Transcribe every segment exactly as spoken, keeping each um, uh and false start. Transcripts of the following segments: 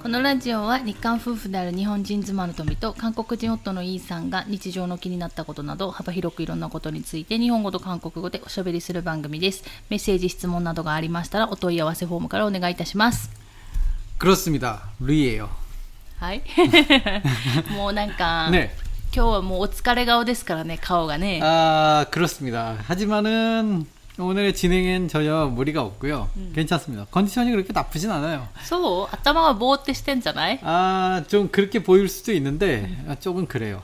このラジオは日韓夫婦である日本人妻の富と韓国人夫のイーさんが日常の気になったことなど幅広くいろんなことについて日本語と韓国語でおしゃべりする番組です。メッセージ質問などがありましたらお問い合わせフォームからお願いいたします。 그렇습니다. 루이예요. はい。もうなんか、 ね、 今日はもうお疲れ顔ですからね、顔がね。 아, 그렇습니다. 하지만은 오늘의 진행엔 전혀 무리가 없고요. 음. 괜찮습니다. 컨디션이 그렇게 나쁘진 않아요. そう? 頭がぼーってしてんじゃない? 아, 좀 그렇게 보일 수도 있는데 아, 조금 그래요.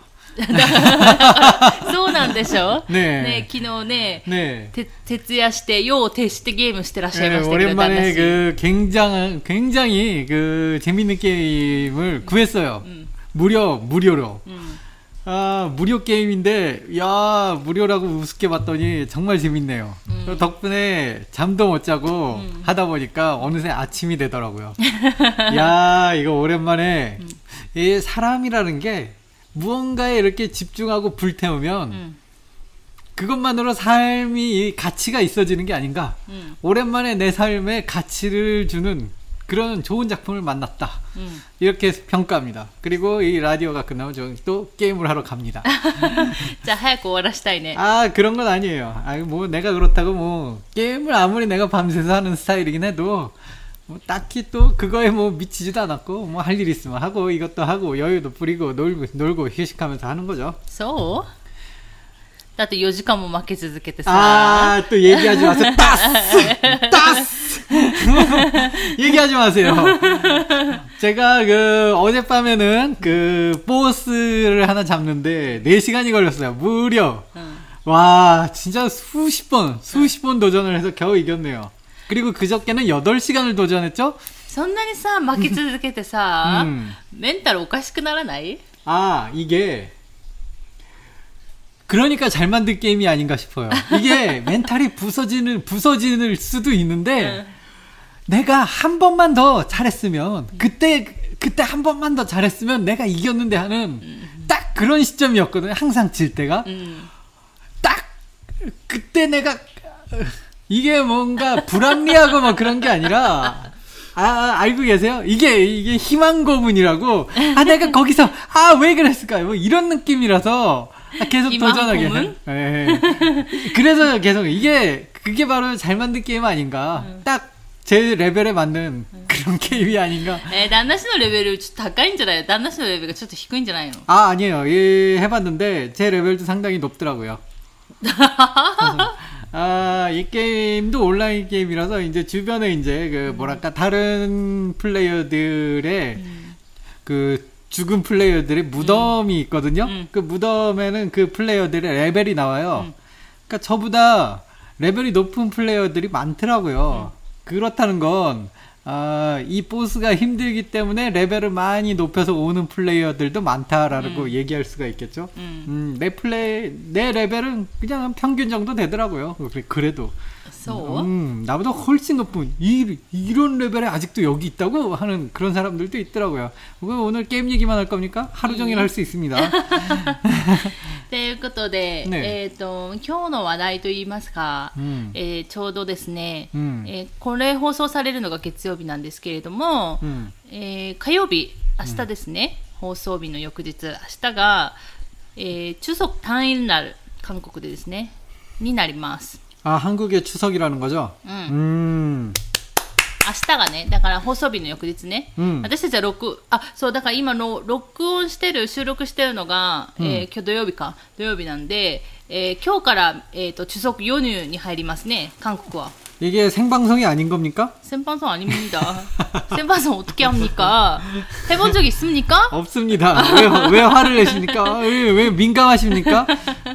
そうなんでしょ? 네. 네, 昨日ね, 네. 徹夜して夜を徹してゲームしてらっしゃいましたけど, 네, 오랜만에 그 굉장히 굉장히 그 재밌는 게임을 구했어요. 음. 무료 무료로. 음. 아, 무료 게임인데, 야, 무료라고 우습게 봤더니 정말 재밌네요. 음. 덕분에 잠도 못 자고 음. 하다 보니까 어느새 아침이 되더라고요. 야, 이거 오랜만에, 음. 이 사람이라는 게 무언가에 이렇게 집중하고 불태우면, 음. 그것만으로 삶이 가치가 있어지는 게 아닌가. 음. 오랜만에 내 삶에 가치를 주는 그런 좋은 작품을 만났다. 음. 이렇게 평가합니다. 그리고 이 라디오가 끝나면 저는 또 게임을 하러 갑니다. 자, 早く終わらしたいね. 아, 그런 건 아니에요. 아, 뭐 내가 그렇다고 뭐 게임을 아무리 내가 밤새서 하는 스타일이긴 해도 뭐 딱히 또 그거에 뭐 미치지도 않았고 뭐 할 일 있으면 하고 이것도 하고 여유도 부리고 놀고 놀고 휴식하면서 하는 거죠. So? だってよじかんも負け続けてさ. 아, 또 얘기하지 마세요. 따스! 따스! 얘기하지 마세요. 제가 그 어젯밤에는 그 보스를 하나 잡는데 네 시간이 걸렸어요. 무려. 응. 와, 진짜 수십 번, 수십 번 도전을 해서 겨우 이겼네요. 그리고 그저께는 여덟 시간을 도전했죠? そんなにさ、負け続けてさ, 음. 멘탈 おかしくならない? 아, 이게 그러니까 잘 만든 게임이 아닌가 싶어요. 이게 멘탈이 부서지는, 부서지는 수도 있는데, 응. 내가 한 번만 더 잘했으면, 그때, 그때 한 번만 더 잘했으면 내가 이겼는데 하는 응. 딱 그런 시점이었거든요. 항상 질 때가. 응. 딱, 그때 내가, 이게 뭔가 불합리하고 막 그런 게 아니라, 아, 알고 계세요? 이게, 이게 희망 고문이라고, 아, 내가 거기서, 아, 왜 그랬을까요? 뭐 이런 느낌이라서, 아, 계속 도전하게. 네. 그래서 계속 이게 그게 바로 잘 만든 게임 아닌가. 응. 딱 제 레벨에 맞는 응. 그런 게임이 아닌가. 에, 난나씨의 레벨이 좀 高いんじゃない? 난나씨의 레벨이 좀 低いんじゃないの? 아, 아니에요. 예, 해봤는데 제 레벨도 상당히 높더라고요. 아, 이 게임도 온라인 게임이라서 이제 주변에 이제 그 뭐랄까 다른 플레이어들의 음. 그 죽은 플레이어들의 무덤이 있거든요. 음. 그 무덤에는 그 플레이어들의 레벨이 나와요. 음. 그러니까 저보다 레벨이 높은 플레이어들이 많더라고요. 음. 그렇다는 건 아, 이 보스가 힘들기 때문에 레벨을 많이 높여서 오는 플레이어들도 많다라고 음. 얘기할 수가 있겠죠. 음. 음, 내 플레이 내 레벨은 그냥 평균 정도 되더라고요. 그래도. So? 음, 나보다 훨씬 높은 이, 이런 레벨에 아직도 여기 있다고 하는 그런 사람들도 있더라고요. 오늘 게임 얘기만 할 겁니까? 하루 종일 할 수 있습니다. ということで、ね、えっと今日の話題といいますか、うんえー、ちょうどですね、うんえー、これ放送されるのが月曜日なんですけれども、うんえー、火曜日明日ですね、うん、放送日の翌日明日が、えー、추석 당일날韓国でですねになります。 아, 한국의 추석이라는 거죠? 응. 음. 明日がね、だから放送日の翌日ね。うん、私たちは録、あ、そう、だから今の録音してる、収録してるのが、うん、えー、今日土曜日か、土曜日なんで、えー、今日から、えっと、추석 연휴に入りますね、韓国は。 이게 생방송이 아닌 겁니까? 생방송 아닙니다. 생방송 어떻게 합니까? 해본 적 있습니까? 없습니다. 왜, 왜 화를 내십니까? 왜, 왜 민감하십니까?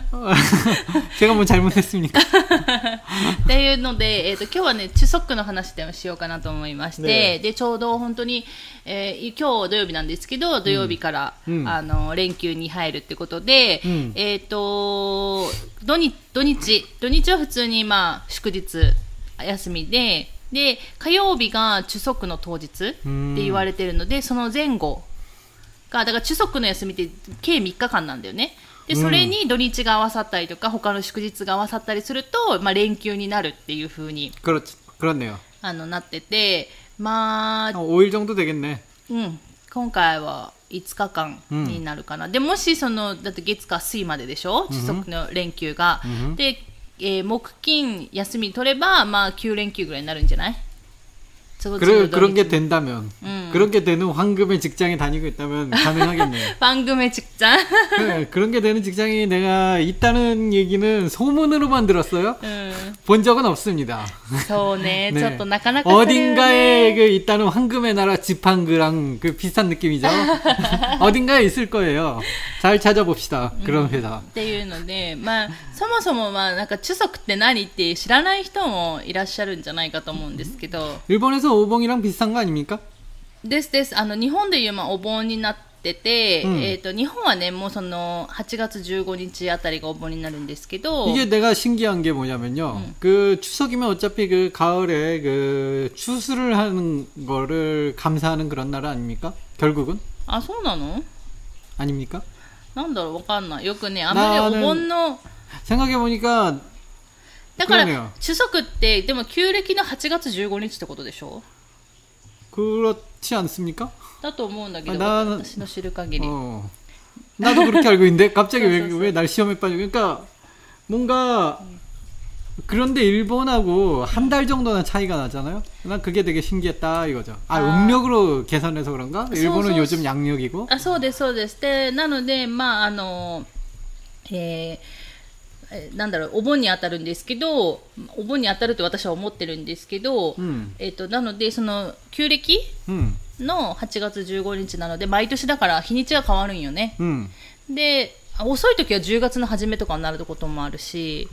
제가 뭐 잘못했습니까? っていうので、えーと、今日はね、추석の話でもしようかなと思いまして、ね、で、ちょうど本当に、えー、今日土曜日なんですけど、土曜日から、うん、あの、連休に入るってことで、うん、えっと、土日、土日、土日は普通にまあ、祝日、休みで、で、火曜日が추석の当日って言われてるので、その前後が、だから추석の休みって計みっかかんなんだよね。で、それに土日が合わさったりとか、他の祝日が合わさったりすると、まあ連休になるっていう風に、 그렇、그렇네요。 あの、なってて、まあ、 오 일 정도 되겠네。 うん、今回はいつかかんになるかな、うん、でもしそのだって月火水まででしょ、中足の連休が、うん、で、えー、木金休み取ればまあきゅう連休ぐらいになるんじゃない？ 그래, 그런 게 된다면 음. 그렇게 되는 황금의 직장에 다니고 있다면 가능하겠네요. 황금의 직장? 네, 그런 게 되는 직장이 내가 있다는 얘기는 소문으로만 들었어요. 음. 본 적은 없습니다. 네, 네. 어딘가에 그 있다는 황금의 나라 지팡그랑 그 비슷한 느낌이죠. 어딘가에 있을 거예요. 잘 찾아봅시다. 그런 회사. っていうので、まあそもそもまあなんか中足って何って知らない人もいらっしゃるんじゃないかと思うんですけど。 일본에서 오봉이랑 비슷한 거 아닙니까? ですです。あの日本でいうまあお盆になってて、うん、えっと日本はねもうそのはちがつじゅうごにちあたりがお盆になるんですけど 이게 내가 신기한 게 뭐냐면요. 음. 그 추석이면 어차피 그 가을에 그 추수를 하는 거를 감사하는 그런 나라 아닙니까? 결국은? 아, そうなの? 아닙니까? なんだろうわかんない。よくねあんまりお盆の 생각해 보니까 だから中足ってでも旧暦のはちがつじゅうごにちってことでしょ? 그렇지 않습니까? だと思うんだけど 아, 私の知る限り 어. 나도 그렇게 알고 있는데 갑자기 왜, 왜 날 시험에 빠져? 그러니까 뭔가 음. 그런데 일본하고 한 달 정도는 차이가 나잖아요. 난 그게 되게 신기했다 이거죠. 아, 아. 음력으로 계산해서 그런가? 일본은 요즘 양력이고. 아, そうですそうです。で、なのでまああのえーなんだろうお盆に当たるんですけどお盆に当たると私は思ってるんですけど、うん、えー、となのでその旧暦のはちがつじゅうごにちなので毎年だから日にちが変わるんよね、うん、で遅い時はじゅうがつの初めとかになることもあるし、うん、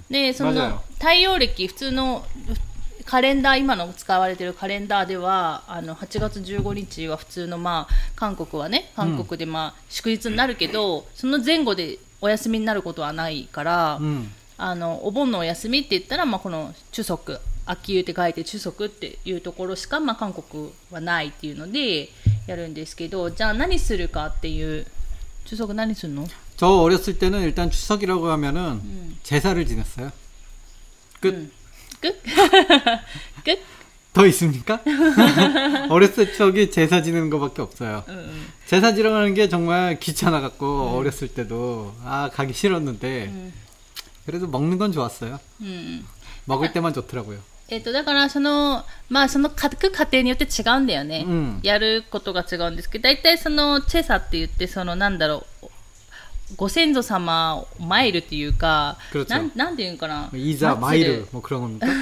でその太陽暦普通のカレンダー今の使われているカレンダーではあのはちがつじゅうごにちは普通のまあ韓国はね韓国でまあ祝日になるけど、うん、その前後でお休みになることはないから、うん、あのお盆のお休みって言ったら、まあ、この中足秋湯って書いて中足っていうところしか、まあ、韓国はないっていうのでやるんですけどじゃあ何するかっていう中足何するの? 저 어렸을 때는 일단 추석이라고 하면은 음. 제사를 지냈어요. 끝. 음. 끝? 끝? 더 있습니까? 어렸을 적이 제사 지내는 거밖에 없어요. 음, 음. 제사 지러 가는 게 정말 귀찮아갖고 음. 어렸을 때도 아 가기 싫었는데 음. 그래도 먹는 건 좋았어요. 음. 먹을 때만 좋더라고요. えっとだからそのまあその各家庭によって違うんだよね。うん、やることが違うんですけど、だいたいそのチェサって言ってそのなんだろう。ご先祖様を参るっていうか、なん、なんていうのかな。 いざ参るもう그런 겁니까?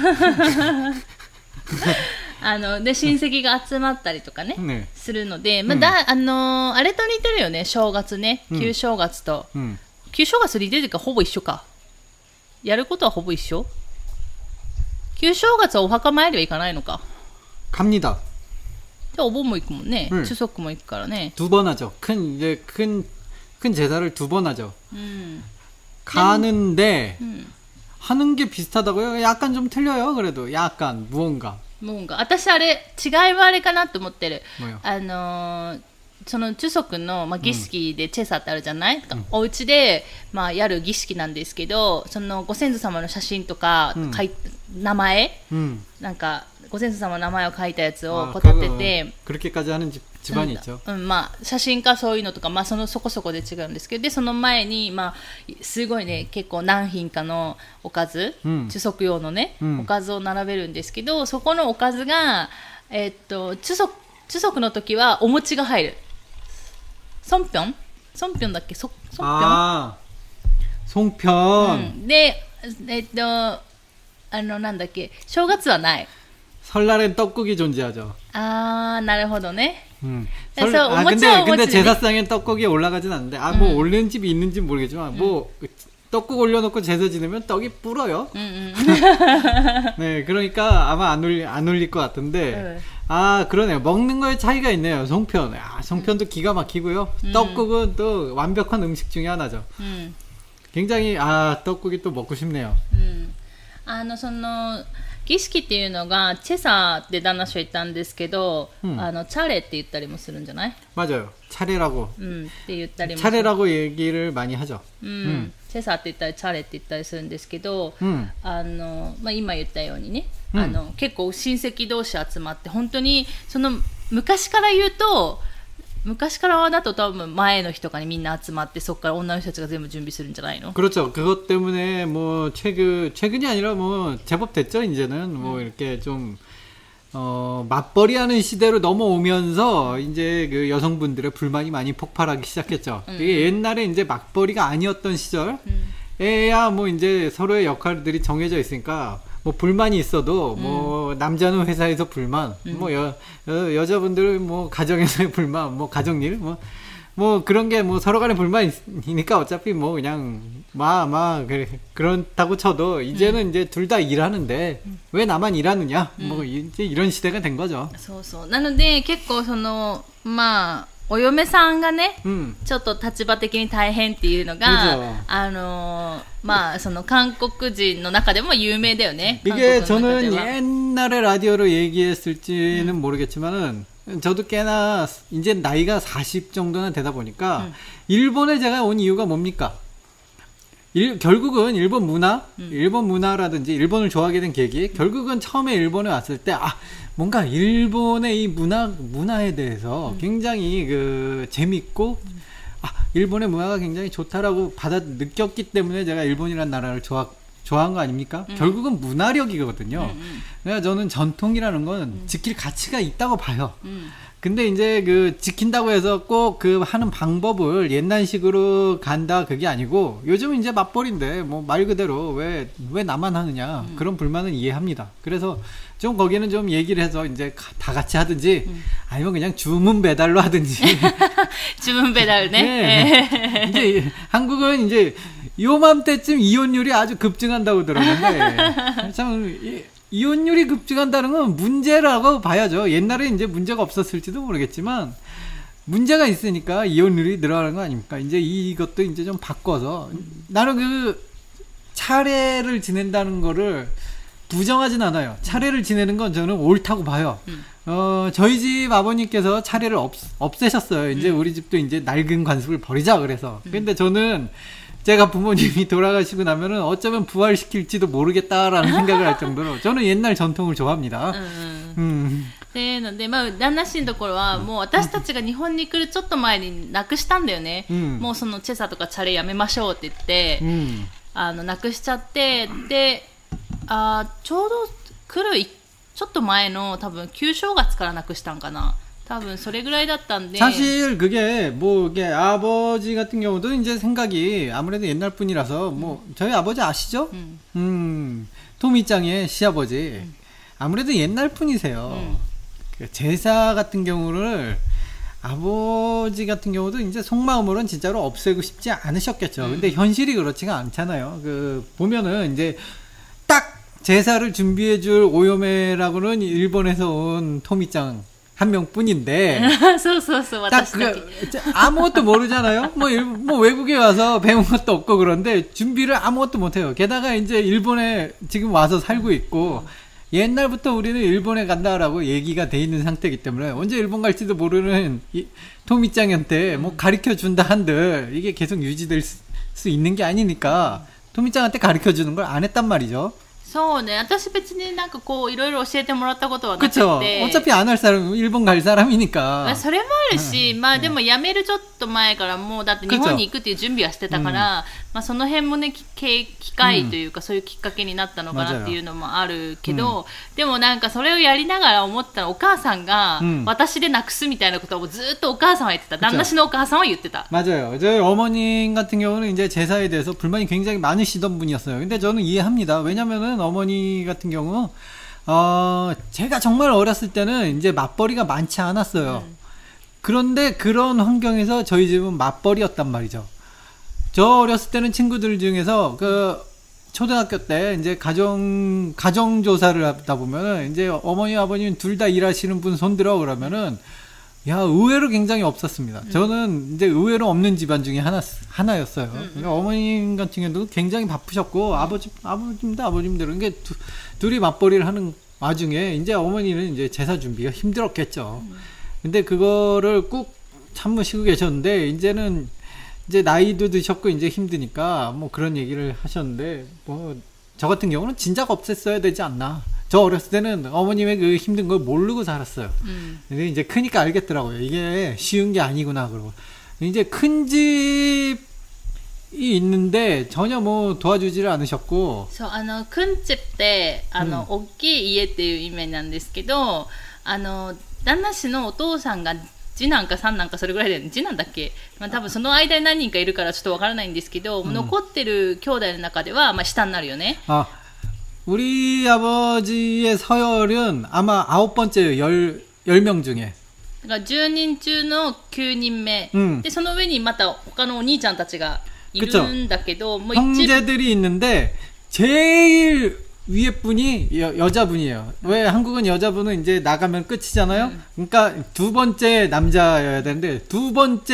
あので親戚が集まったりとかね、ねするので、まあだ、うん、あのあれと似てるよね正月ね旧正月と、うん、旧正月似てるかほぼ一緒かやることはほぼ一緒旧正月はお墓参りは行かないのか 갑니다 じゃあお盆も行くもんね、うん、中足も行くからね 두 번 하죠 큰 이제 큰 큰 제사를 두 번 하죠 음. 가는데 음. 하는 게 비슷하다고요? 약간 좀 틀려요. 그래도 약간 무언가. 무언가. 私あれ違いはあれかなと思ってる. 뭐요? あのー、その中足のまあ儀式でチェサってあるじゃない？うん、お家でまあやる儀式なんですけど、そのご先祖様の写真とか、うん、書い名前、うん、なんかご先祖様の名前を書いたやつをこう立てて、 그렇게까지 하는 집안이 있죠. うん、まあ写真かそういうのとかまあそのそこそこで違うんですけど、でその前にまあすごいね結構何品かのおかず、うん、中足用のね、うん、おかずを並べるんですけど、そこのおかずがえー、っと中足中足の時はお餅が入る。ソンピョン？ソンピョンだっけ？ソソンピョン？あー、ソンピョン。 うん、でえー、っとあのなんだっけ正月はない。 설날엔 떡국이 존재하죠. 아, なるほどね. 음. 설, 아, 근데, 근데 제사상엔 떡국이 올라가진 않는데, 아, 뭐, 음. 올리는 집이 있는지 모르겠지만, 음. 뭐, 떡국 올려놓고 제사 지내면 떡이 불어요. 음, 음. 네, 그러니까 아마 안 올리, 안 올릴 것 같은데, 음. 아, 그러네요. 먹는 거에 차이가 있네요. 송편. 아, 송편도 음. 기가 막히고요. 음. 떡국은 또 완벽한 음식 중에 하나죠. 음. 굉장히, 아, 떡국이 또 먹고 싶네요. 음. あのその儀式っていうのがチェサって旦那氏は言ったんですけど、うん、あのチャレって言ったりもするんじゃない? 맞아요. 차례라고. 음, って言ったりも 차례라고 얘기를 많이 하죠. 음, 음. チェサって言ったりチャレって言ったりするんですけど、うん、あのまあ今言ったようにね、うん、あの結構親戚同士集まって本当にその昔から言うと昔からだと多分前の日とかにみんな集まってそこから女の人たちが全部準備するんじゃないの? 그렇죠. 그것 때문에 뭐 최근 최근이 아니라 뭐 제법 됐죠. 이제는 뭐 음. 이렇게 좀 어, 맞벌이하는 시대로 넘어오면서 이제 그 여성분들의 불만이 많이 폭발하기 시작했죠. 음. 이게 옛날에 이제 맞벌이가 아니었던 시절에야 뭐 이제 서로의 역할들이 정해져 있으니까 뭐 불만이 있어도 음. 뭐 남자는 회사에서 불만, 음. 뭐 여, 여 여자분들은 뭐 가정에서의 불만, 뭐 가정일, 뭐 뭐 그런 게 뭐 서로 간에 불만이니까 어차피 뭐 그냥 막막 그래 그렇다고 쳐도 이제는 음. 이제 둘 다 일하는데 음. 왜 나만 일하느냐, 음. 뭐 이제 이런 시대가 된 거죠. そうそう。なので結構そのまあお嫁さんがね、うん、ちょっと立場的に大変っていうのが、あのー、まあその韓国人の中でも有名だよね。 이게 저는 옛날에 라디오로 얘기했을지는 음. 모르겠지만은 저도 꽤나 이제 나이가 사십 정도나 되다 보니까 음. 일본에 제가 온 이유가 뭡니까? 일, 결국은 일본 문화, 음. 일본 문화라든지 일본을 좋아하게 된 계기, 결국은 처음에 일본에 왔을 때 아 뭔가 일본의 이 문화 문화에 대해서 음. 굉장히 그 재밌고 음. 아 일본의 문화가 굉장히 좋다라고 받아 느꼈기 때문에 제가 일본이라는 나라를 좋아 좋아한 거 아닙니까? 음. 결국은 문화력이거든요. 음, 음. 그래서 저는 전통이라는 건 음. 지킬 가치가 있다고 봐요. 음. 근데 이제 그 지킨다고 해서 꼭 그 하는 방법을 옛날식으로 간다 그게 아니고 요즘은 이제 맞벌인데 뭐 말 그대로 왜 왜 나만 하느냐 음. 그런 불만은 이해합니다. 그래서 좀 거기는 좀 얘기를 해서 이제 다 같이 하든지 음. 아니면 그냥 주문 배달로 하든지 주문 배달네. 네. 이제 한국은 이제 요맘때쯤 이혼율이 아주 급증한다고 들었는데 참 이, 이혼율이 급증한다는 건 문제라고 봐야죠. 옛날에 이제 문제가 없었을지도 모르겠지만 문제가 있으니까 이혼율이 늘어나는 거 아닙니까? 이제 이것도 이제 좀 바꿔서 나는 그 차례를 지낸다는 거를 부정하진 않아요. 차례를 지내는 건 저는 옳다고 봐요. 음. 어, 저희 집 아버님께서 차례를 없, 없애셨어요. 이제 음. 우리 집도 이제 낡은 관습을 버리자 그래서. 음. 근데 저는 제가 부모님이 돌아가시고 나면은 어쩌면 부활시킬지도 모르겠다라는 생각을 할 정도로 저는 옛날 전통을 좋아합니다. 음. 음. でので、まあ、旦那氏のところは、もう私たちが日本に来るちょっと前になくしたんだよね。うん、もうそのチェサとかチャレやめましょうって言って、うん、あのなくしちゃって、で、あちょうど来るちょっと前の多分旧正月からなくしたんかな。多分それぐらいだったんで. 사실 그게 뭐 이게 아버지 같은 경우도 이제 생각이 아무래도 옛날 분이라서 뭐 음. 저희 아버지 아시죠? 음, 음 토미짱의 시아버지 음. 아무래도 옛날 분이세요. 음. 그 제사 같은 경우를 아버지 같은 경우도 이제 속마음으로는 진짜로 없애고 싶지 않으셨겠죠. 음. 근데 현실이 그렇지가 않잖아요. 그 보면은 이제 딱 제사를 준비해줄 오요메라고는 일본에서 온 토미짱 한 명뿐인데 딱 그, 아무것도 모르잖아요. 뭐, 일, 뭐 외국에 와서 배운 것도 없고 그런데 준비를 아무것도 못해요. 게다가 이제 일본에 지금 와서 살고 있고 옛날부터 우리는 일본에 간다라고 얘기가 돼 있는 상태이기 때문에 언제 일본 갈지도 모르는 이, 토미짱한테 뭐 가르쳐 준다 한들 이게 계속 유지될 수, 수 있는 게 아니니까 토미짱한테 가르쳐 주는 걸 안 했단 말이죠. そうね、私別になんかこういろいろ教えてもらったことはなくて、 그쵸. 어차피 안 할 사람 일본 갈 사람이니까. それもあるし、まあでも辞めるちょっと前からもうだって日本に行くっていう準備はしてたから、まあその辺もね機会というかそういうきっかけになったのかなっていうのもあるけど、でもなんかそれをやりながら思ったらお母さんが私でなくすみたいなことをずっとお母さんは言ってた。旦那氏のお母さんは言ってた。 맞아요. 저희 어머님 같은 경우는 이제 제사에 대해서 불만이 굉장히 많으시던 분이었어요. 근데 저는 이해합니다. 왜냐면은 어머니 같은 경우 어 제가 정말 어렸을 때는 이제 맞벌이가 많지 않았어요. 음. 그런데 그런 환경에서 저희 집은 맞벌이였단 말이죠. 저 어렸을 때는 친구들 중에서 그 초등학교 때 이제 가정 가정 조사를 하다 보면은 이제 어머니 아버님 둘 다 일하시는 분 손들어 그러면은 야 의외로 굉장히 없었습니다. 음. 저는 이제 의외로 없는 집안 중에 하나 하나였어요. 음. 그러니까 어머님 같은 경우도 굉장히 바쁘셨고 아버지 아버님도 아버님들은 게 두, 둘이 맞벌이를 하는 와중에 이제 어머니는 이제 제사 준비가 힘들었겠죠. 음. 근데 그거를 꾹 참으시고 계셨는데 이제는 이제 나이도 드셨고 이제 힘드니까 뭐 그런 얘기를 하셨는데 뭐 저 같은 경우는 진작 없앴어야 되지 않나. 저 어렸을 때는 어머님의 그 힘든 걸 모르고 살았어요. 음. 근데 이제 크니까 알겠더라고요. 이게 쉬운 게 아니구나 그러고. 이제 큰 집이 있는데 전혀 뭐 도와주지를 않으셨고. そう、あの、くんちって、あの、大きい家っていう意味なんですけど、あの、旦那氏のお父さんが次男か三男かそれぐらいで、次男だっけ、まあ多分その間に何人かいるからちょっとわからないんですけど、残ってる兄弟の中では、まあ下になるよね。 아, 우리 아버지의 서열은 아마 아홉 번째예요. 열, 열 명 중에. だからじゅうにん中のきゅうにんめ、 うん、 でその上にまた他のお兄ちゃんたちがいるんだけど、もう 형제들이 있는데 제일 위에 분이 여, 여자분이에요. 왜 한국은 여자분은 이제 나가면 끝이잖아요. 음. 그러니까 두 번째 남자여야 되는데 두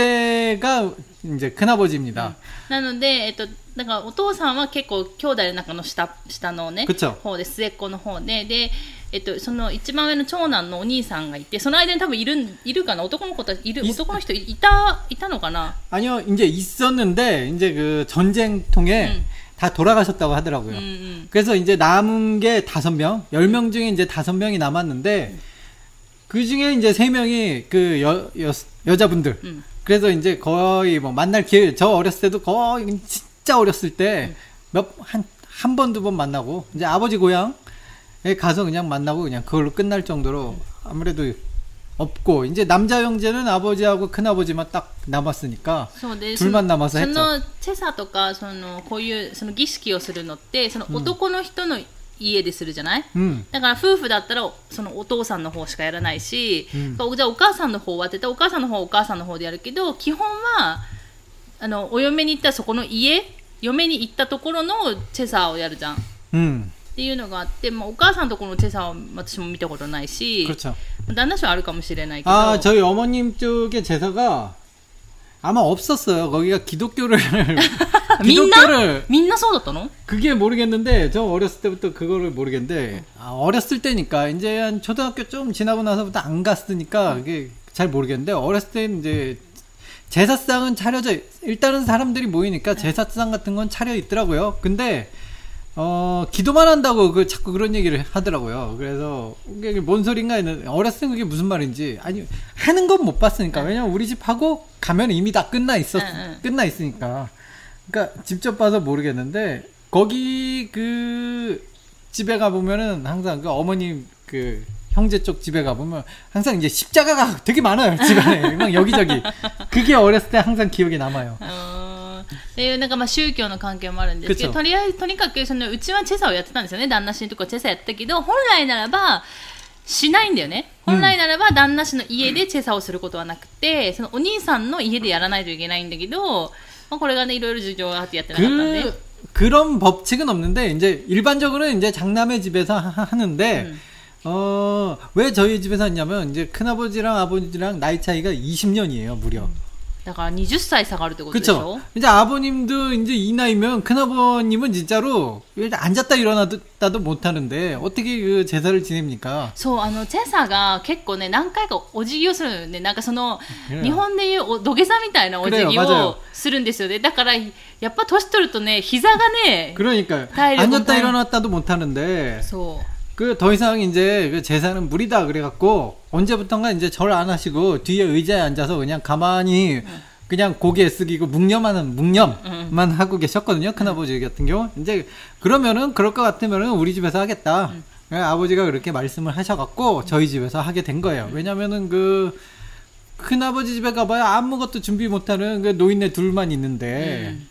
번째가 이제 큰아버지입니다. なので、えっと、だからお父さんは結構兄弟の中の 下, 下のね方で末っ子の方で、で、えっと、その一番上の長男のお兄さんがいて、その間に多分いるいるかな、男の子たちいる、男の人いたいたのかな。 아니요, 이제 있었는데 이제 그 전쟁 통에 음. 다 돌아가셨다고 하더라고요. 음, 음. 그래서 이제 남은 게 다섯 명, 열 명 중에 이제 다섯 명이 남았는데 음. 그 중에 이제 세 명이 그 여, 여, 여자분들. 음. 그래서 이제 거의 뭐 만날 기회, 저 어렸을 때도 거의 진짜 어렸을 때 몇, 한, 한 번, 두 번 만나고, 이제 아버지 고향에 가서 그냥 만나고 그냥 그걸로 끝날 정도로 아무래도 없고, 이제 남자 형제는 아버지하고 큰아버지만 딱 남았으니까, 둘만 남아서 했죠. そのチェサとか、その、こういう、その儀式をするのって、その男の人の家でするじゃない、うん、だから夫婦だったらそのお父さんの方しかやらないし、うん、じゃあお母さんの方はって言ったらお母さんの方はお母さんの方でやるけど、基本はあのお嫁に行ったらそこの家、嫁に行ったところのチェサーをやるじゃん、うん、っていうのがあって、まあ、お母さんのところのチェサーは私も見たことないし、旦那氏はあるかもしれないけど、 아, 저희 어머님 쪽의 제사가 아마 없었어요. 거기가 기독교를 기독교를 민나 쏟았다노? 그게 모르겠는데 저 어렸을 때부터 그거를 모르겠는데 아, 어렸을 때니까 이제 한 초등학교 좀 지나고 나서부터 안 갔으니까 그게 잘 모르겠는데 어렸을 때 이제 제사상은 차려져 일단은 사람들이 모이니까 제사상 같은 건 차려 있더라고요. 근데 어, 기도만 한다고 그 자꾸 그런 얘기를 하더라고요. 그래서 이게 뭔 소린가 했는데 어렸을 때 그게 무슨 말인지 아니 하는 건 못 봤으니까. 왜냐면 우리 집 하고 가면 이미 다 끝나 있었 끝나 있으니까. 그러니까 직접 봐서 모르겠는데 거기 그 집에 가 보면은 항상 그 어머님 그 형제 쪽 집에 가 보면 항상 이제 십자가가 되게 많아요. 집안에 막 여기저기. 그게 어렸을 때 항상 기억에 남아요. っていうなんかまあ宗教の関係もあるんですけど、とりあえずとにかくそのうちはチェサをやってたんですよね。旦那氏のとこはチェサやってたけど、本来ならばしないんだよね。本来ならば旦那氏の家でチェサをすることはなくて、そのお兄さんの家でやらないといけないんだけど、まあ、これがねいろいろ事情があってやってなかったんで。 그런 법칙은 없는데 이제 일반적으로는 이제 장남의 집에서 하는데 음. 어, 왜 저희 집에서 했냐면 이제 큰아버지랑 아버지랑 나이 차이가 이십 년이에요, 무려. だからにじゅっさい差があるってことでしょ? 그쵸. 이제 아버님도 이제 이 나이면 큰아버님은 진짜로 일단 앉았다 일어났다도 못 하는데 어떻게 그 제사를 지냅니까? そう、あの、チェサが結構ね、何回かお辞儀をするんで、なんかその、日本でいう土下座みたいなお辞儀をするんですよね。だから、やっぱ年取るとね、膝がね、 그러니까요. 앉았다 일어났다도 못 하는데. そう。 그 더 이상 이제 그 제사는 무리다 그래갖고 언제부턴가 이제 절 안 하시고 뒤에 의자에 앉아서 그냥 가만히 응. 그냥 고개 숙이고 묵념하는 묵념만 응. 하고 계셨거든요. 큰아버지 같은 경우 이제 그러면은 그럴 것 같으면은 우리 집에서 하겠다. 응. 아버지가 그렇게 말씀을 하셔갖고 저희 집에서 하게 된 거예요. 왜냐면은 그 큰아버지 집에 가봐야 아무것도 준비 못하는 그 노인네 둘만 있는데. 응.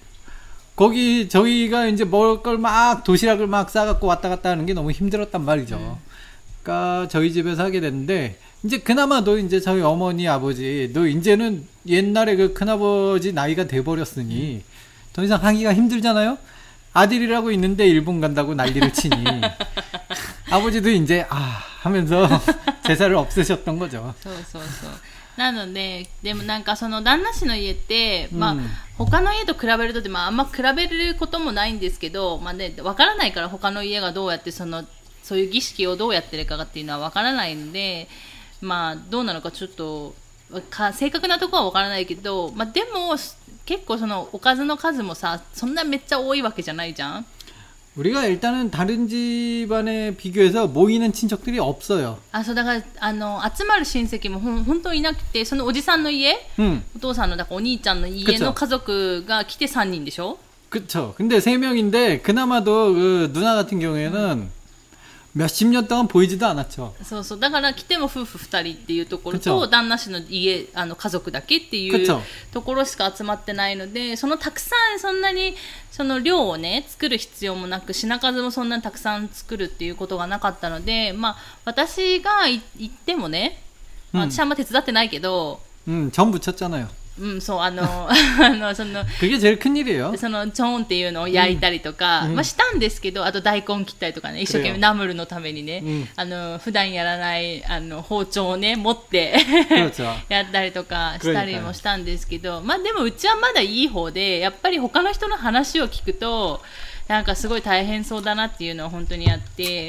거기 저희가 이제 먹을 걸 막 도시락을 막 싸갖고 왔다 갔다 하는 게 너무 힘들었단 말이죠. 음. 그러니까 저희 집에서 하게 됐는데 이제 그나마도 이제 저희 어머니 아버지도 이제는 옛날에 그 큰아버지 나이가 돼버렸으니 음. 더 이상 하기가 힘들잖아요. 아들이라고 있는데 일본 간다고 난리를 치니 아버지도 이제 아 하면서 제사를 없애셨던 거죠. そうそうそう。なので、でもなんかその旦那氏の家って、まあ、他の家と比べるとで、まあ、あんま比べることもないんですけど、まあね、わからないから他の家がどうやってその、そういう儀式をどうやってるかっていうのはわからないので、まあ、どうなのかちょっと、か正確なところはわからないけど、まあでも、結構そのおかずの数もさ、そんなめっちゃ多いわけじゃないじゃん。 우리가 일단은 다른 집안에 비교해서 모이는 친척들이 없어요. あ、そうだからあの集まる親戚もほん本当いなくて、そのおじさんの家、 음. お父さんのだからお兄ちゃんの家の家族が来てさんにんでしょ? 그쵸. 근데 세 명인데 그나마도 그 누나 같은 경우에는 몇십 년 동안 보이지도 않았죠. そうそう。だから来ても夫婦ふたりっていうところ 그쵸. と旦那氏の家あの家族だけっていう 그쵸. ところしか集まってないので、そのたくさんそんなにその量をね作る必要もなく、品数もそんなにたくさん作るっていうことがなかったので、まあ私が行ってもね、まあ、私はあんま手伝ってないけど、 음, 전 붙였잖아요. うん、そう、あの、あの、その、 그게 제일 큰 일이에요. その、チョーンっていうのを焼いたりとか、 うん、 まあしたんですけど、あと大根切ったりとかね、一生懸命ナムルのためにね、 うん、 あの、普段やらない、あの、包丁をね、持ってやったりとかしたりもしたんですけど、まあでもうちはまだいい方で、やっぱり他の人の話を聞くと、なんかすごい大変そうだなっていうのは本当にあって、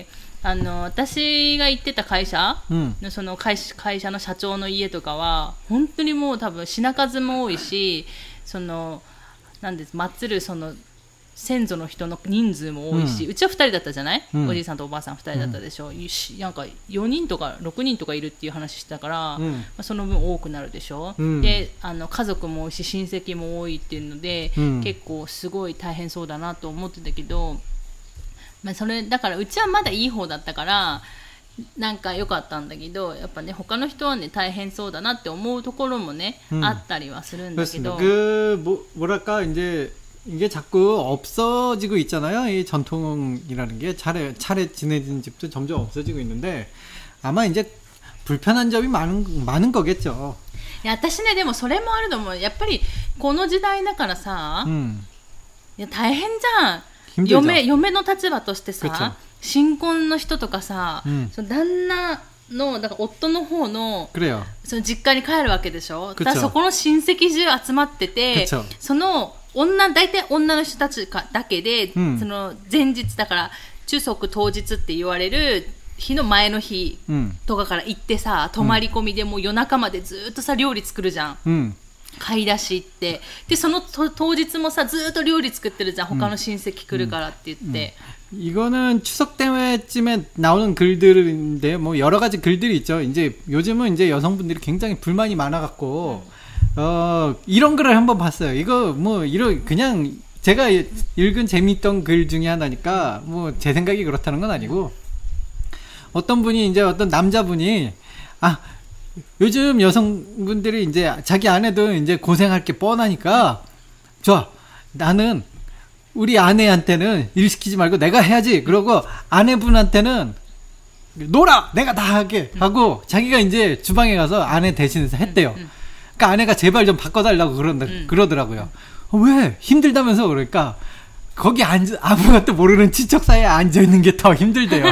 あの私が行ってた会社の、うん、その会社、会社の社長の家とかは本当にもう多分品数も多いし、そのなんです祀るその先祖の人の人数も多いし、うん、うちはふたりだったじゃない、うん、おじいさんとおばあさんふたりだったでしょ、うん、なんかよにんとかろくにんとかいるっていう話してたから、うん、まあ、その分多くなるでしょ、うん、であの家族も多いし親戚も多いっていうので、うん、結構すごい大変そうだなと思ってたけど、まあ、それだからうちはまだいい方だったからなんか良かったんだけど、やっぱね他の人はね大変そうだなって思うところもね、うん、あったりはするんだけど。 그 뭐 뭐랄까 이제 이게 자꾸 없어지고 있잖아요. 이 전통이라는 게 차례 차례 지내진 집도 점점 없어지고 있는데 아마 이제 불편한 점이 많은 많은 거겠죠. いや私ねでもそれもあると思う。やっぱりこの時代だからさ、うん、いや大変じゃん。嫁, 嫁の立場としてさ、新婚の人とかさ、うん、その旦那のだから夫の方のその実家に帰るわけでしょ。だからそこの親戚中集まってて、その女大体女の人たちかだけで、うん、その前日だから中足当日って言われる日の前の日とかから行ってさ、泊まり込みでもう夜中までずっとさ料理作るじゃん。うん、買い出し行ってでその当日もさずっと料理作ってるじゃん。他の親戚来るからって言って、 음, 음. 이거는 추석 때쯤에 나오는 글들인데 뭐 여러 가지 글들이 있죠. 이제 요즘은 이제 여성분들이 굉장히 불만이 많아갖고 음. 어 이런 글을 한번 봤어요. 이거 뭐 이런 그냥 제가 읽은 재미있던 글 중에 하나니까 뭐 제 생각이 그렇다는 건 아니고 어떤 분이 이제 어떤 남자분이 아 요즘 여성분들이 이제 자기 아내도 이제 고생할 게 뻔하니까 좋아 나는 우리 아내한테는 일 시키지 말고 내가 해야지. 그러고 아내분한테는 놀아 내가 다 하게 하고 자기가 이제 주방에 가서 아내 대신해서 했대요. 그러니까 아내가 제발 좀 바꿔달라고 그런다 그러더라고요. 어, 왜 힘들다면서 그러니까. 거기 앉아, 아무것도 모르는 친척 사이에 앉아있는 게 더 힘들대요.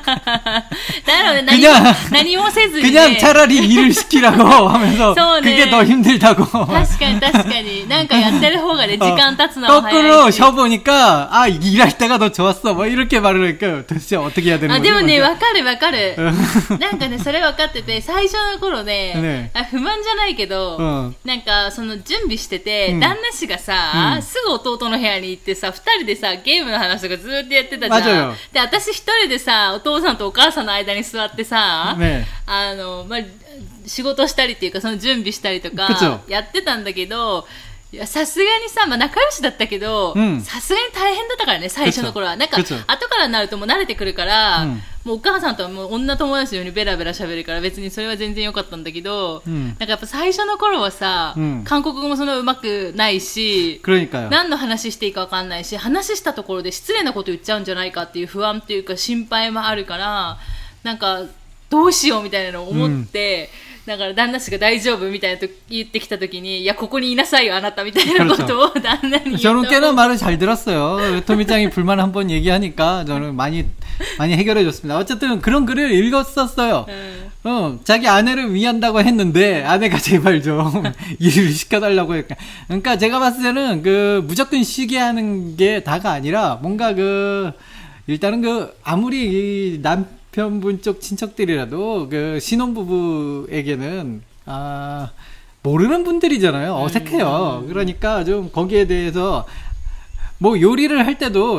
그냥, 그냥 차라리 일을 시키라고 하면서 그게 더 힘들다고. 確かに確かになんかやってる方がね時間経つのは早いし 거꾸로 쉬어보니까 아 일할 때가 더 좋았어 뭐 이렇게 말을 하니까 도대체 어떻게 해야 되는 거지? でもねわかるわかるなんかねそれわかってて最初の頃ね不満じゃないけどなんかその準備してて旦那氏がさすぐ弟の部屋に行ってさふたりでさゲームの話とかずーっとやってたじゃん。で私一人でさお父さんとお母さんの間に座ってさ、ね、あのまあ仕事したりっていうかその準備したりとかやってたんだけどさすがにさ、まあ、仲良しだったけどさすがに大変だったからね最初の頃はなんか後からになるともう慣れてくるから、うん、もうお母さんとはもう女友達のようにベラベラ喋るから別にそれは全然良かったんだけど、うん、なんかやっぱ最初の頃はさ、うん、韓国語もそんな上手くないし何の話していいか分かんないし話したところで失礼なこと言っちゃうんじゃないかっていう不安っていうか心配もあるからなんかどうしようみたいなのを思って、うん、だから旦那氏が大丈夫みたいなと言ってきた時にいやここにいなさいよあなたみたいなことを旦那に言った 저는 꽤나 말을 잘 들었어요. 토미짱이 불만 한번 얘기하니까 저는 많이 많이 해결해 줬습니다. 어쨌든 그런 글을 읽었었어요. 음. 어, 자기 아내를 위한다고 했는데 아내가 제발 좀 일을 시켜달라고 했까. 그러니까 제가 봤을 때는 그 무조건 쉬게 하는 게 다가 아니라 뭔가 그 일단은 그 아무리 이 남 편분 쪽 친척들이라도 그 신혼부부에게는 아 모르는 분들이잖아요. 어색해요. 그러니까 좀 거기에 대해서 뭐 요리를 할 때도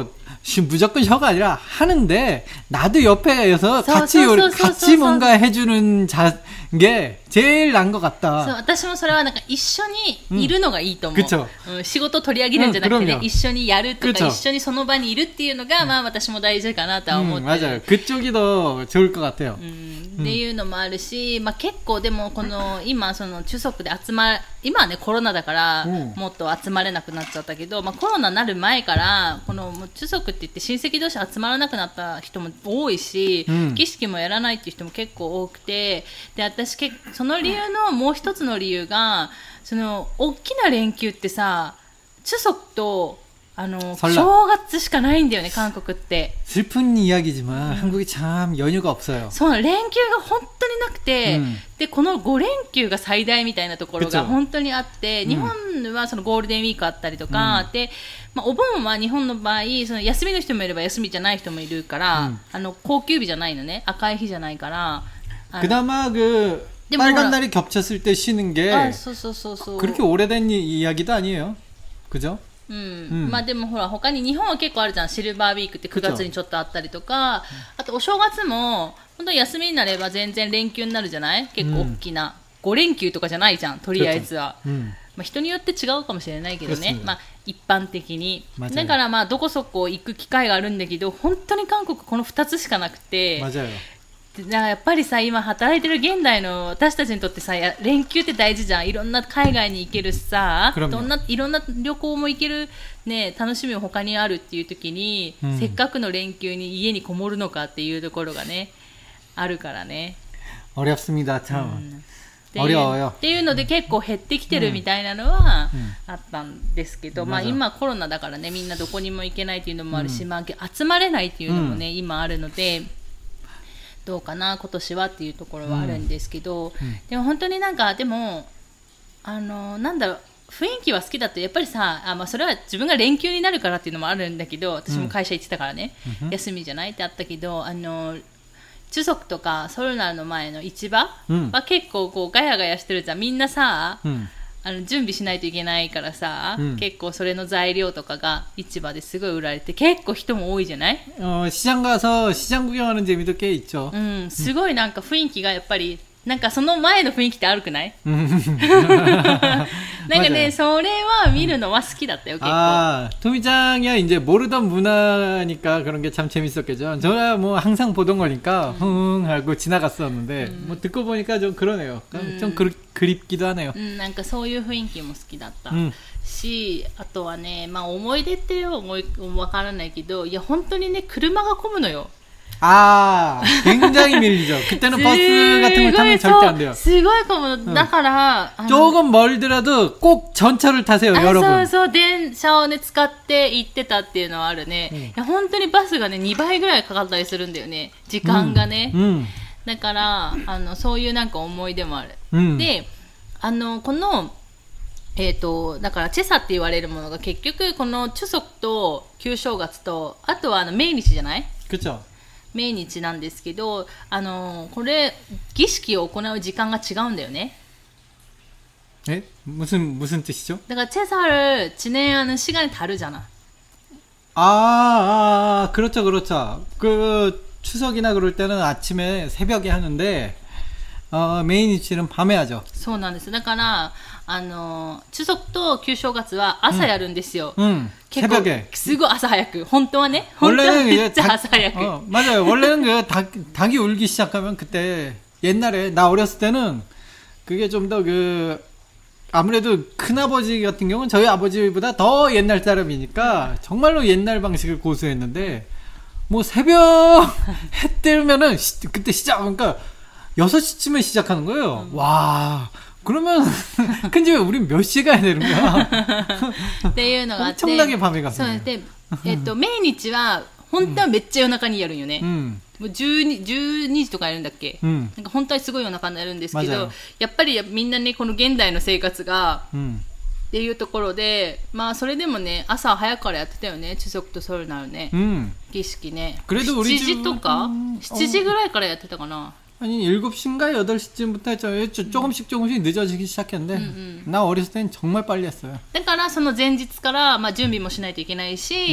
무조건 혀가 아니라 하는데 나도 옆에서 서- 같이 서- 요- 서- 서- 같이 서- 뭔가 해주는 자, 게 제일 난 것 そう 같다. 私もそれはなんか一緒にいるのがいいと思う、 うん그쵸 うん仕事を取り上げるんじゃなくてね、 うん一緒にやるとか 그쵸 一緒にその場にいるっていうのが、まあ私も大事かなとは思っ 음, てる、 맞아요. 그쪽이 더 좋을 것 같아요. うんっていうのもあるし、まあ、結構でもこの今その中足で集ま今はねコロナだからうんもっと集まれなくなっちゃったけど、まあ、コロナになる前からこのもう中足って言って親戚同士集まらなくなった人も多いし、 うん儀式もやらないっていう人も結構多くて、で私けその理由のもう一つの理由がその大きな連休ってさ中足とあの 설날 正月しかないんだよね韓国って。 슬픈 이야기지만 한국이 참 연휴가 없어요. そう連休が本当になくて、 うんでこのご連休が最大みたいなところが 그쵸 本当にあって、 うん日本はそのゴールデンウィークあったりとか、でまあ、お盆は日本の場合その休みの人もいれば休みじゃない人もいるから、 うんあの高級日じゃないのね、赤い日じゃないからあの 그나마 그 근데 뭐 빨간 뭐라- 날이 겹쳤을 때 쉬는 게 あそうそうそうそう 그렇게 오래된 이- 이야기도 아니에요. 그죠? うんうんまあでもほら他に日本は結構あるじゃん、シルバーウィークってくがつにちょっとあったりとか、あとお正月も本当に休みになれば全然連休になるじゃない、結構大きな、ご連休とかじゃないじゃんとりあえずは、 음. まあ、人によって違うかもしれないけどね、 그렇습니다. まあ、一般的に 맞아요. だからまあどこそこ行く機会があるんだけど本当に韓国このふたつしかなくて、 맞아요. でだからやっぱりさ今働いてる現代の私たちにとってさや連休って大事じゃん、いろんな海外に行けるしさ 그럼요. どんないろんな旅行も行ける、ね、楽しみも他にあるっていう時に、 うんせっかくの連休に家にこもるのかっていうところがねあるからね、 어렵습니다. う 참. んっていう 어려워요. っていうので結構減ってきてるみたいなのはうんあったんですけど、まあ、 맞아. 今コロナだからねみんなどこにも行けないっていうのもあるし、まあ、集まれないっていうのもね、今あるのでどうかな今年はっていうところはあるんですけど、でも本当になんかでもあのなんだろう雰囲気は好きだとやっぱりさあ、まあ、それは自分が連休になるからっていうのもあるんだけど、私も会社行ってたからね、 うん休みじゃないってあったけどあの中足とかソルナルの前の市場うんは結構こうガヤガヤしてるじゃん、みんなさ、 음. あの準備しないといけないからさ、 うん結構それの材料とかが市場ですごい売られて結構人も多いじゃない、 어, 시장 가서 시장 구경하는 재미도 꽤 있죠. うん、すごいなんか雰囲気がやっぱりなんかその前の雰囲気って悪くない 음. なんかね 맞아요. それは見るのは好きだったよ結構、 아, 토미짱이야 이제 모르던 문화니까 그런 게 참 재밌었겠죠. 저야 뭐 항상 보던 거니까 흥 하고 지나갔었는데 뭐 듣고 보니까 좀 그러네요. 좀 그리, 그립기도 하네요. うん、なんかそういう雰囲気も好きだった、 うんしあとはね、まあ、思い出って思いわからないけどいや本当にね車が混むのよ 아, 굉장히 밀리죠. 그때는 버스 같은 걸 타면 절대 안 돼요. すごい混む、だからあの 조금 멀더라도 꼭 전철을 타세요, あ 여러분. そうそう電車をね使って行ってたっていうのはあるね、 うんいや本当にバスがねにばいぐらいかかったりするんだよね時間がね、 음, だからあのそういうなんか思い出もある、 음. であのこのえー、とだからチェサって言われるものが結局このチュソクと旧正月とあとはあの命日じゃない 그쵸. 命日なんですけどあのこれ儀式を行う時間が違うんだよね 에? 무슨, 무슨 뜻이죠? だからチェサル지내하는 시간이 다르잖아. 아, 아, 아, 그렇죠, 그렇죠. 그, 추석이나 그럴 때는 아침에 새벽에 하는데, 어, 메인 이치는 밤에 하죠. そうなんですだからあの中足と旧正月は朝やるんですよ、 응, 結構 새벽에. すごい朝早く本当はね本当は 원래는 め 이제 っちゃ 닭, 朝早く、 어, 맞아요. 원래는 그 닭, 닭이 울기 시작하면 그때 옛날에 나 어렸을 때는 그게 좀 더 그 아무래도 큰아버지 같은 경우는 저희 아버지보다 더 옛날 사람이니까 정말로 옛날 방식을 고수했는데 뭐 새벽 해 뜨면은 시, 그때 시작 그러니까 여섯 시쯤에 시작하는 거예요. 음. 와. 그러면 근데 왜 우린 몇 시에 가야 되는 거야? っていうのがあって 엄청나게 밤에 そう 갔어요. で、えっと、命日は本当はめっちゃ夜中にやるんよね、 음. もうじゅうに、じゅうにじとかやるんだっけ、 음. なんか本当はすごい夜中になるんですけ 맞아요. どやっぱりみんなねこの現代の生活が 음. っていうところでまあそれでもね朝早くからやってたよね中足とソルナルね、 음. 儀式ね 그래도우리 しちじとか、 집 しちじぐらいからやってたかな、 아니 일곱 시인가 여덟 시쯤부터 했죠. 조- 조금씩 조금씩 늦어지기 시작했는데 음, 음. 나 어렸을 땐 정말 빨리 했어요. だからその前日から、まあ、準備もしないといけないし、 うん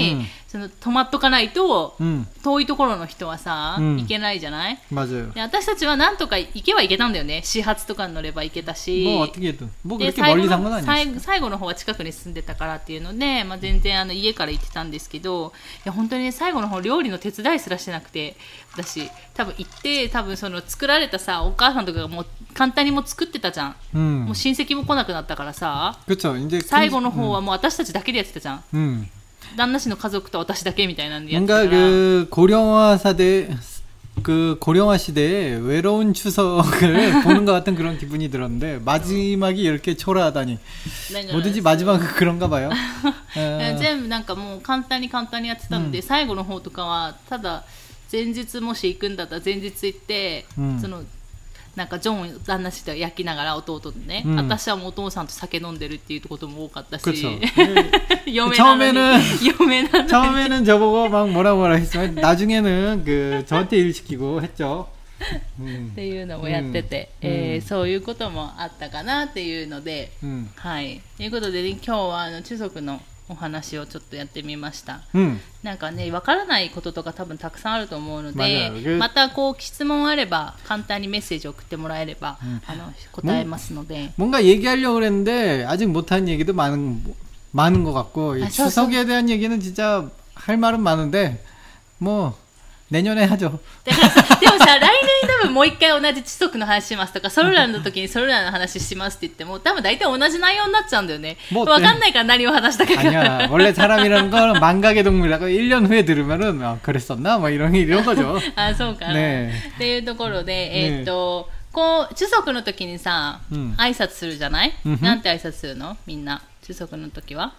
その止まっとかないと、 うん、 遠いところの人はさ、うん、行けないじゃない。 맞아요。 で私たちはなんとか行けば行けたんだよね。始発とかに乗れば行けたし、 もう어떻게든 뭐 그렇게 멀리 산 건 아니었어요。 最後の方は近くに住んでたからっていうので、まあ、全然あの家から行ってたんですけど、いや本当に、ね、最後の方料理の手伝いすらしてなくて、私多分行って多分その作られたさお母さんとかがもう簡単にもう作ってたじゃん、うん、もう親戚も来なくなったからさ、最後の方はもう私たちだけでやってたじゃん、うん、旦那氏の家族と私だけみたいなんでやってたから。 뭔가 그 고령화 사대 그 고령화 시대에 외로운 추석을 보는 것 같은 그런 기분이 들었는데 마지막이 이렇게 초라하다니 뭐든지 마지막은 그런가 봐요. 全部なんかもう簡単に簡単にやってたので、うん、最後の方とかはただ前日もし行くんだったら前日行って、うん、そのなんかジョン旦那氏と焼きながら弟とね、うん、私はもうお父さんと酒飲んでるっていうことも多かったし嫁なのに嫁なのに 처음에는 저보고 막 뭐라 뭐라 했지만 나중에는 그 저한테 일 시키고 했죠。 うんっていうのもやってて、うんえー、そういうこともあったかなっていうので、うん、はいということで、ね、今日はあの中足のお話をちょっとやってみました、うん、なんかねわからないこととか多分たくさんあると思うので、またこう質問あれば簡単にメッセージ送ってもらえれば、うん、あの答えますので。 뭔가 얘기하려고 그랬는데 아직 못한 얘기도 많은, 많은 것 같고 아, 추석에 대한 얘기는 진짜 할 말은 많은데 뭐 내년에 하죠。 でもさ来年多分もう一回同じ知足の話しますとかソルラの時にソルラの話しますって言っても多分大体同じ内容になっちゃうんだよね。もう分かんないから何を話したか。 아니야 원래 사람이라는 건 망각의 동물이라고 일 년 후에 들으면은 아, 그랬었나 뭐 이런 이런 거죠。 あそうかな、ね、っていうところでえー、っと、ね、こう知足の時にさ、うん、挨拶するじゃない、うん、なんて挨拶するのみんな知足の時は。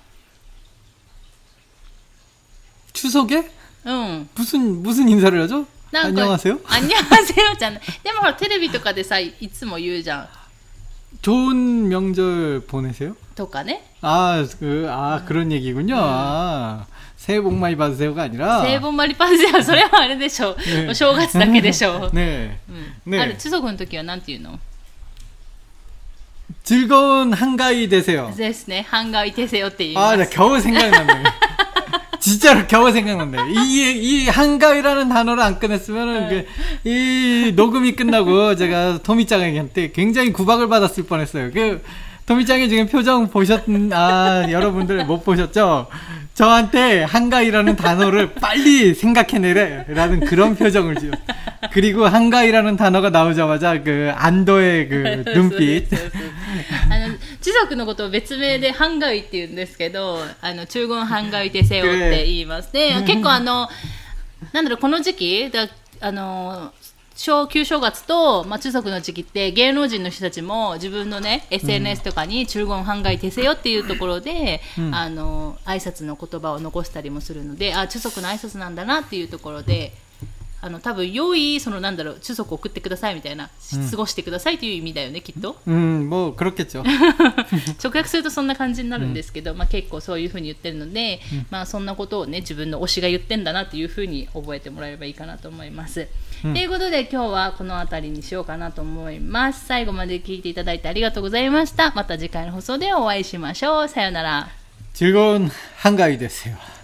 추석에? 응. 무슨 무슨 인사를 하죠? 안녕하세요? 안녕하세요 じゃない。でもほらテレビとかでさいつも言うじゃん。 좋은 명절 보내세요? とかね。 아, 그, 아 그런 얘기군요. 음. 아, 새해 복 많이 받으세요가 아니라. 새해 복 많이 받으세요. それはあれでしょ。네. お正月だけでしょ。 네. うん。ね。ある추석の時はなんて言うの? 즐거운 한가위 되세요. ですね。한가위 되세요って言います。 아, 나 겨우 생각났네. 진짜로 겨우 생각났네. 이, 이 한가위라는 단어를 안 꺼냈으면은, 네. 그, 이 녹음이 끝나고 제가 토미짱에게 굉장히 구박을 받았을 뻔했어요. 그, 토미짱의 지금 표정 보셨, 아, 여러분들 못 보셨죠? 저한테 한가위라는 단어를 빨리 생각해내래라는 그런 표정을 지어. 그리고 한가위라는 단어가 나오자마자 그 안도의 그 눈빛. 知足のことを別名でハンガイって言うんですけど、あの中言ハンガイテセヨって言います。で、結構あのなんだろうこの時期だあの小旧正月と、まあ、中足の時期って芸能人の人たちも自分のね エスエヌエス とかに中言ハンガイテセヨっていうところで、うん、あの挨拶の言葉を残したりもするので、あ中足の挨拶なんだなっていうところで。あの多分良いそのなんだろう中足を送ってくださいみたいな、うん、過ごしてくださいという意味だよねきっと。 うんもう그렇겠죠。 直訳するとそんな感じになるんですけど、うんまあ、結構そういう風に言ってるので、うんまあ、そんなことをね自分の推しが言ってんだなっていう風に覚えてもらえればいいかなと思います。と、うん、いうことで今日はこの辺りにしようかなと思います。最後まで聞いていただいてありがとうございました。また次回の放送でお会いしましょう。さよなら。 즐거운 한가위 되세요。